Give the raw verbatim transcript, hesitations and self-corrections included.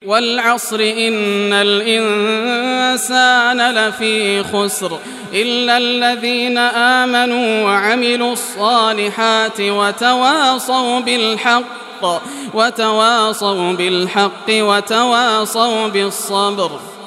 والعصر إن الإنسان لفي خسر إلا الذين آمنوا وعملوا الصالحات وتواصوا بالحق وتواصوا بالحق وتواصوا بالصبر.